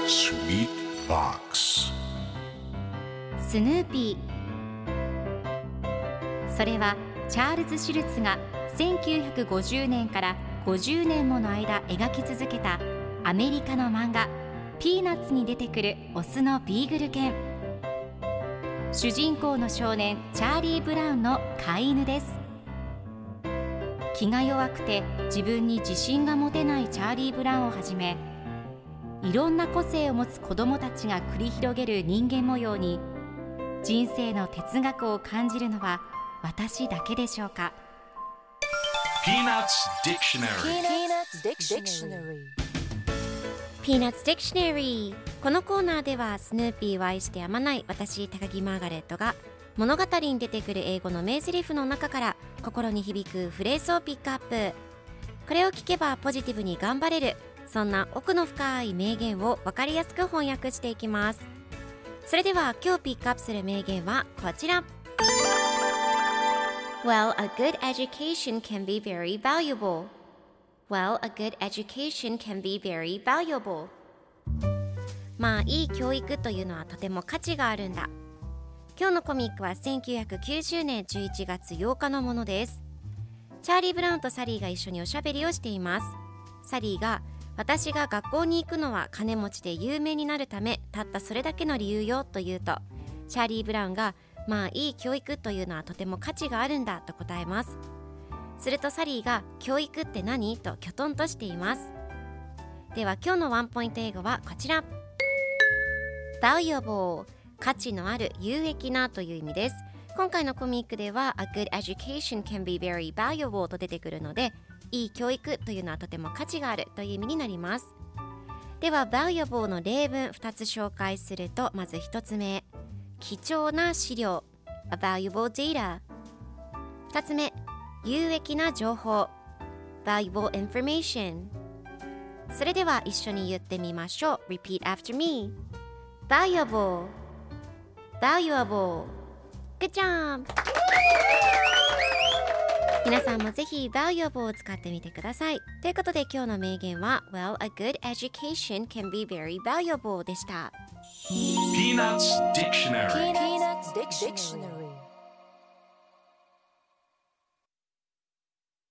Sweet Box スヌーピー。それはチャールズ・シュルツが1950年から50年もの間描き続けたアメリカの漫画ピーナッツに出てくるオスのビーグル犬。主人公の少年チャーリー・ブラウンの飼い犬です。気が弱くて自分に自信が持てないチャーリー・ブラウンをはじめ、いろんな個性を持つ子どもたちが繰り広げる人間模様に人生の哲学を感じるのは私だけでしょうか。 Peanuts Dictionary Peanuts Dictionary。 このコーナーではスヌーピーを愛してやまない私高木マーガレットが物語に出てくる英語の名台詞の中から心に響くフレーズをピックアップ。これを聞けばポジティブに頑張れる、そんな奥の深い名言を分かりやすく翻訳していきます。それでは今日ピックアップする名言はこちら。 Well, a good education can be very valuable. Well, a good education can be very valuable. まあいい教育というのはとても価値があるんだ。今日のコミックは1990年11月8日のものです。チャーリー・ブラウンとサリーが一緒におしゃべりをしています。サリーが、私が学校に行くのは金持ちで有名になるため、たったそれだけの理由よと言うと、チャーリー・ブラウンが、まあいい教育というのはとても価値があるんだと答えます。するとサリーが、教育って何ときょとんとしています。では今日のワンポイント英語はこちら。 Valuable、 価値のある、有益なという意味です。今回のコミックでは A good education can be very valuable と出てくるので、いい教育というのはとても価値があるという意味になります。では valuable の例文2つ紹介すると、まず1つ目、貴重な資料 A valuable data。 2つ目、有益な情報 Valuable information。 それでは一緒に言ってみましょう。 Repeat after me。 Valuable Valuable。 Good job。 皆さんもぜひ Valuable を使ってみてください。ということで今日の名言は Well, a good education can be very valuable でした。 Peanuts Dictionary Peanuts Dictionary